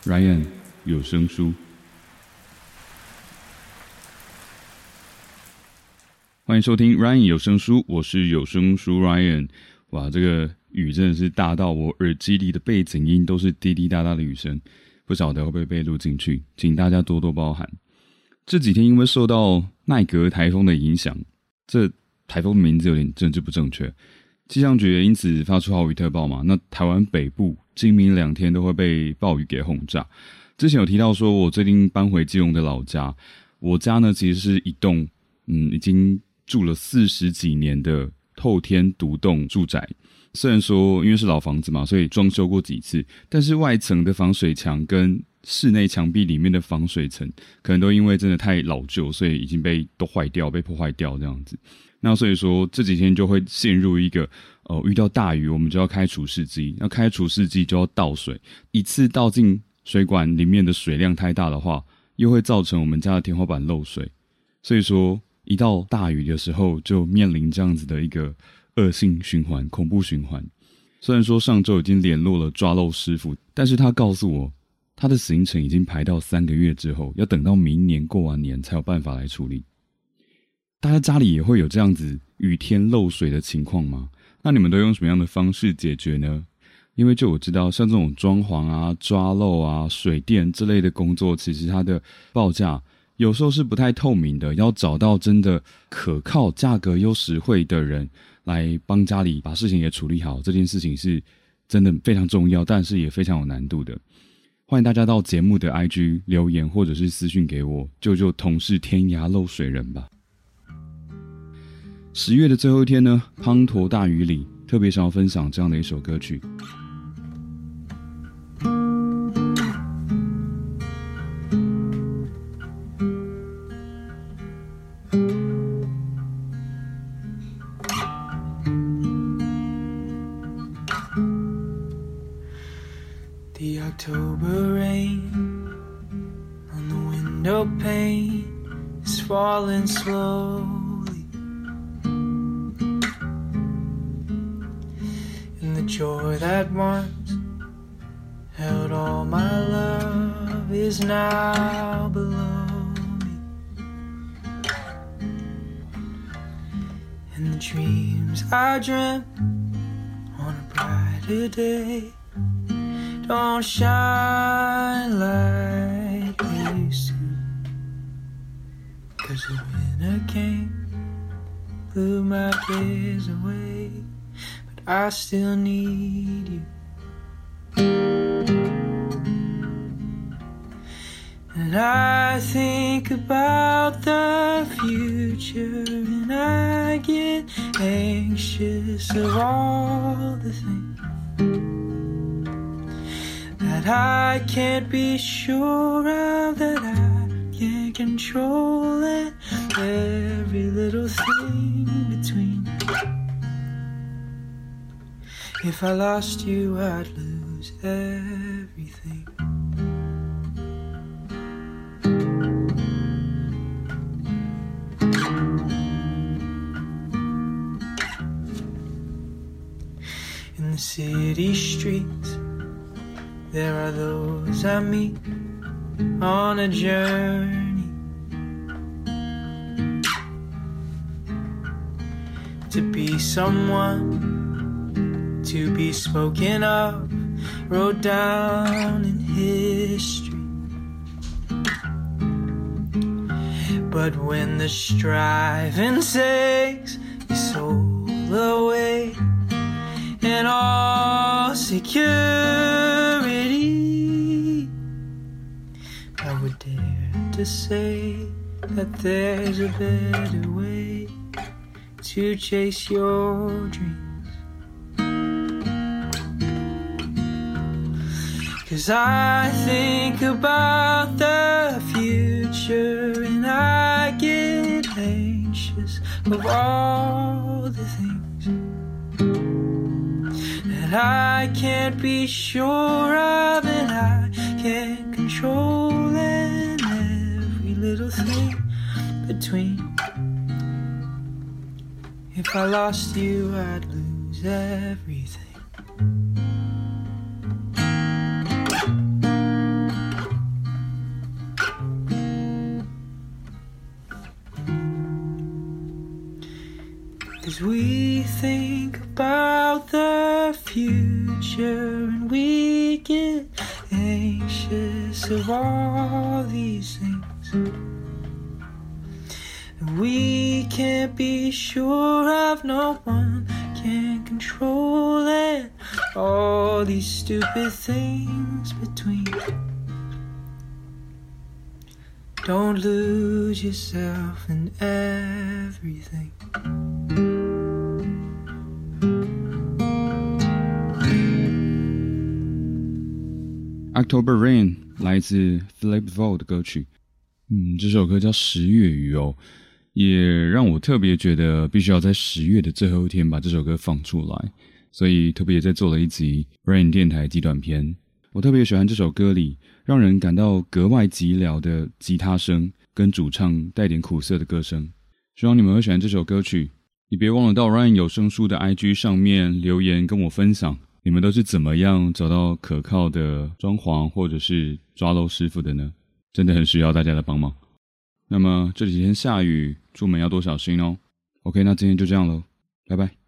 Ryan 有声书，欢迎收听 Ryan 有声书，我是有声书 Ryan。哇，这个雨真的是大到我耳机里的背景音都是滴滴答答的雨声，不晓得会不会被录进去，请大家多多包涵。这几天因为受到奈格台风的影响，这台风的名字有点政治不正确，气象局也因此发出豪雨特报嘛。那台湾北部今明2天都会被暴雨给轰炸。之前有提到说我最近搬回基隆的老家，我家呢其实是一栋已经住了40几年的透天独栋住宅。虽然说因为是老房子嘛，所以装修过几次，但是外层的防水墙跟室内墙壁里面的防水层可能都因为真的太老旧，所以已经被坏掉，被破坏掉这样子。那所以说这几天就会陷入一个遇到大雨我们就要开除湿机，要开除湿机就要倒水，一次倒进水管里面的水量太大的话，又会造成我们家的天花板漏水。所以说一到大雨的时候就面临这样子的一个恶性循环，恐怖循环。虽然说上周已经联络了抓漏师傅，但是他告诉我他的行程已经排到3个月之后，要等到明年过完年才有办法来处理。大家家里也会有这样子雨天漏水的情况吗？那你们都用什么样的方式解决呢？因为就我知道像这种装潢啊、抓漏啊、水电之类的工作，其实它的报价有时候是不太透明的，要找到真的可靠、价格又实惠的人来帮家里把事情给处理好，这件事情是真的非常重要，但是也非常有难度的。欢迎大家到节目的 IG 留言或者是私讯给我，救救同是天涯漏水人吧。10月的最后一天呢，滂沱大雨里，特别想要分享这样的一首歌曲。 The October rain on the window pane is falling slowly, and the joy that once held all my love is now below me, and the dreams I dreamt on a brighter day don't shine like they used to, 'cause the winter came, blew my days away, but I still need you. And I think about the future, and I get anxious of all the things that I can't be sure of, that I can't control, and every little thing between. If I lost you, I'd lose everything. In the city streets, there are those I meet on a journey to be someone, to be spoken of, wrote down in history. But when the striving takes your soul away, and all security, I would dare to say that there's a better way to chase your dreams. 'Cause I think about the future, and I get anxious of all the things that I can't be sure of, and I can't control, and every little thing between. If I lost you, I'd lose everything. 'Cause we think about the future and we get anxious of all these things. And we can't be sure of, no one can control it. All these stupid things between. Don't lose yourself in everything. October Rain 来自 Philip Vaughan 的歌曲。这首歌叫十月雨哦，也让我特别觉得必须要在10月的最后一天把这首歌放出来，所以特别再做了一集 Rain 电台极短篇。我特别喜欢这首歌里让人感到格外寂寥的吉他声跟主唱带点苦涩的歌声，希望你们会喜欢这首歌曲。也别忘了到 Ryan 有声书的 IG 上面留言跟我分享，你们都是怎么样找到可靠的装潢或者是抓漏师傅的呢？真的很需要大家的帮忙。那么这几天下雨，出门要多小心哦。OK， 那今天就这样咯，拜拜。